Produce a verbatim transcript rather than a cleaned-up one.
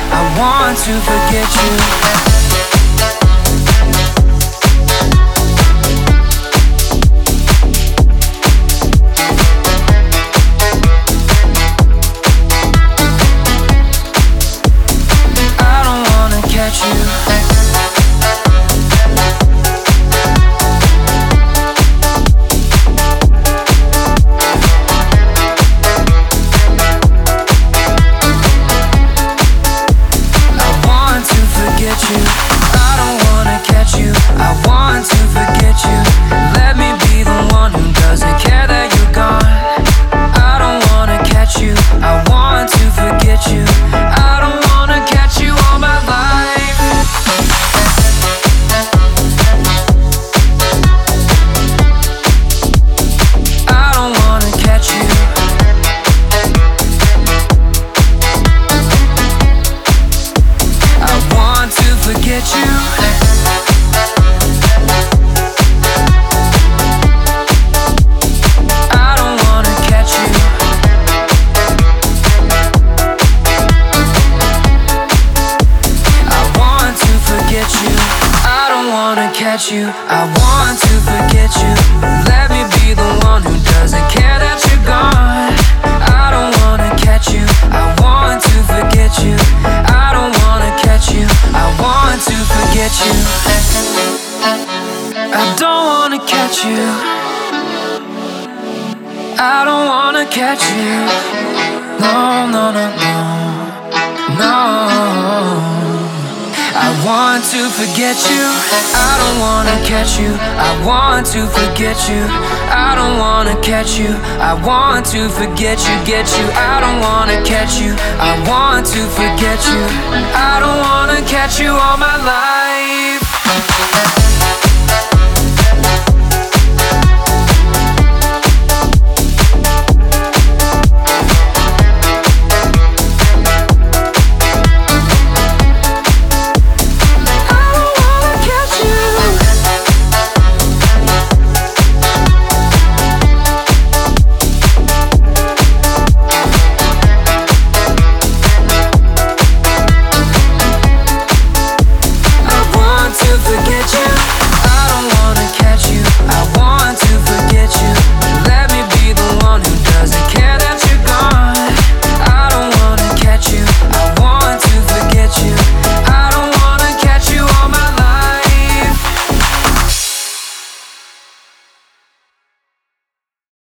I want to forget you. Catch you, I want to forget you. Let me be the one who doesn't care that you're gone. I don't wanna catch you, I want to forget you. I don't wanna catch you, I want to forget you. I don't wanna catch you. I don't wanna catch you. No, no, no, no, no. I want to forget you. I don't wanna catch you. I want to forget you. I don't wanna catch you. I want to forget you, get you. I don't wanna catch you. I want to forget you. I don't wanna catch you all my life.